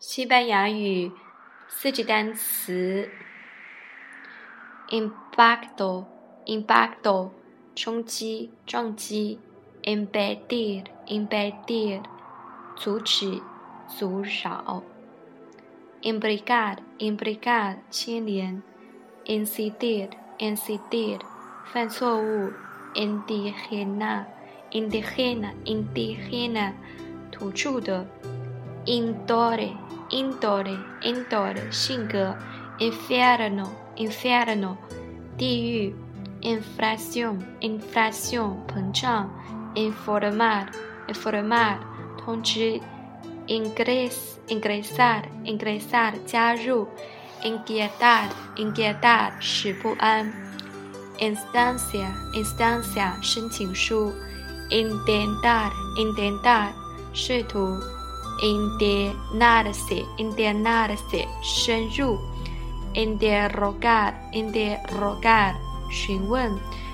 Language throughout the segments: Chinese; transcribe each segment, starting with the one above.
西班牙语四级单词 impacto 冲击撞击 impedir 阻止阻扰 imbricar 牵连 incidir 犯错误 indigena 土著的 indole 性格 infierno 地狱 inflación 膨胀 informar 通知 ingresar 加入 inquietar 使不安 instancia 申请书 intentar 试图 internarse 深入 interrogar 询问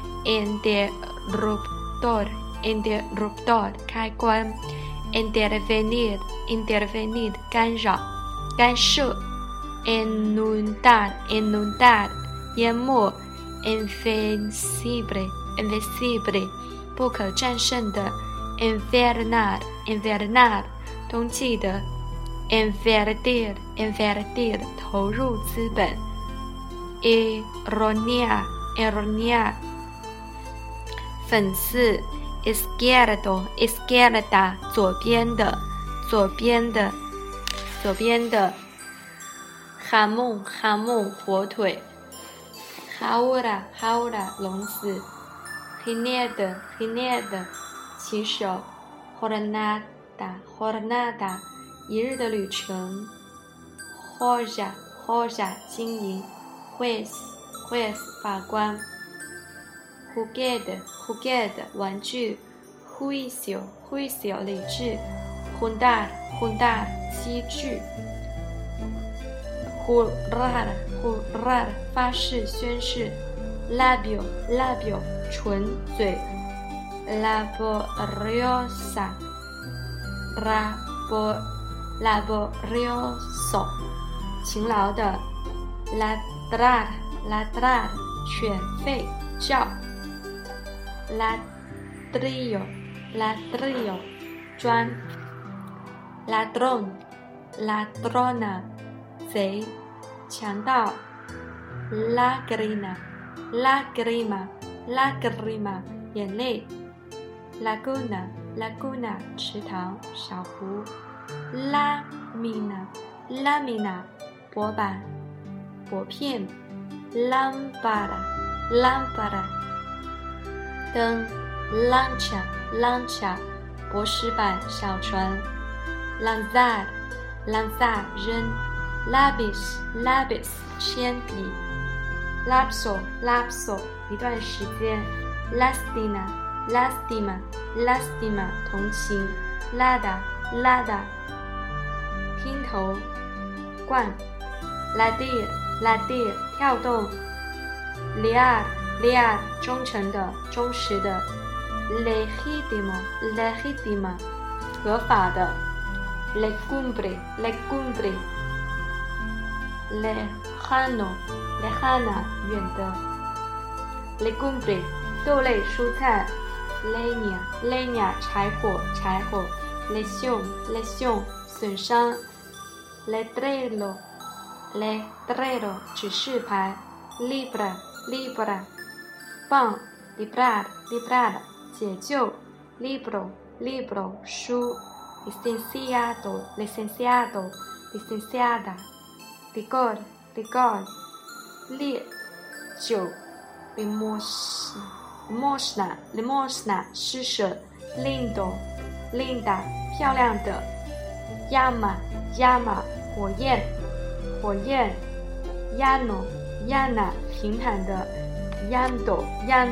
interruptor 开关 intervenir 干涉 inundar 淹没 invencible 不可战胜的 invernar 冬季的 invertir 投入资本 ironia 讽刺 izquierda 左边的 jamón 火腿 jaula 笼子 jinete 骑手 jornada 一日的旅程 joya 金银 juez 法官 juguete 玩具 juicio 理智 juntar 积聚 jurar 发誓宣誓 labio 唇嘴 laborioso 勤劳的 ladrar 犬吠叫 ladrillo 砖 ladrona 贼强盗 lagrima 眼泪 laguna 池塘小湖 lamina 薄板薄片 lámpara 灯 lancha 薄石板小船 lanzar 扔 lapis 铅笔 lapso 一段时间 lastima 同情 lada 听头灌 ladir 跳动 liar 忠诚的忠实的 legitima 合法的 legumbre lejana 远的 legumbre 豆类蔬菜 leña 柴火 lesión 损伤 letrero 指示牌 libra 棒 librar 解救 libro 书 licenciada licor 烈酒 limosna 施舍 linda 漂亮的 llama 火焰 llana 平坦的 llanto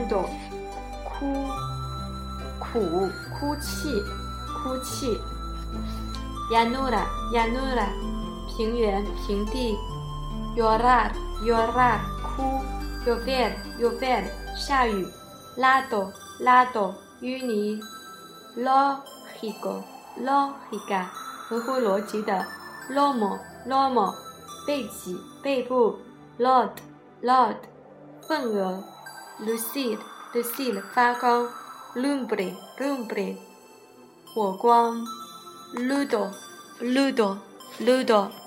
哭泣 llanura 平原平地 llorar 哭 llover 下雨 lado 淤泥 lógica 合乎逻辑的 lomo 背脊背部 lord 份额 lucide 发光 lumbre 火光 ludo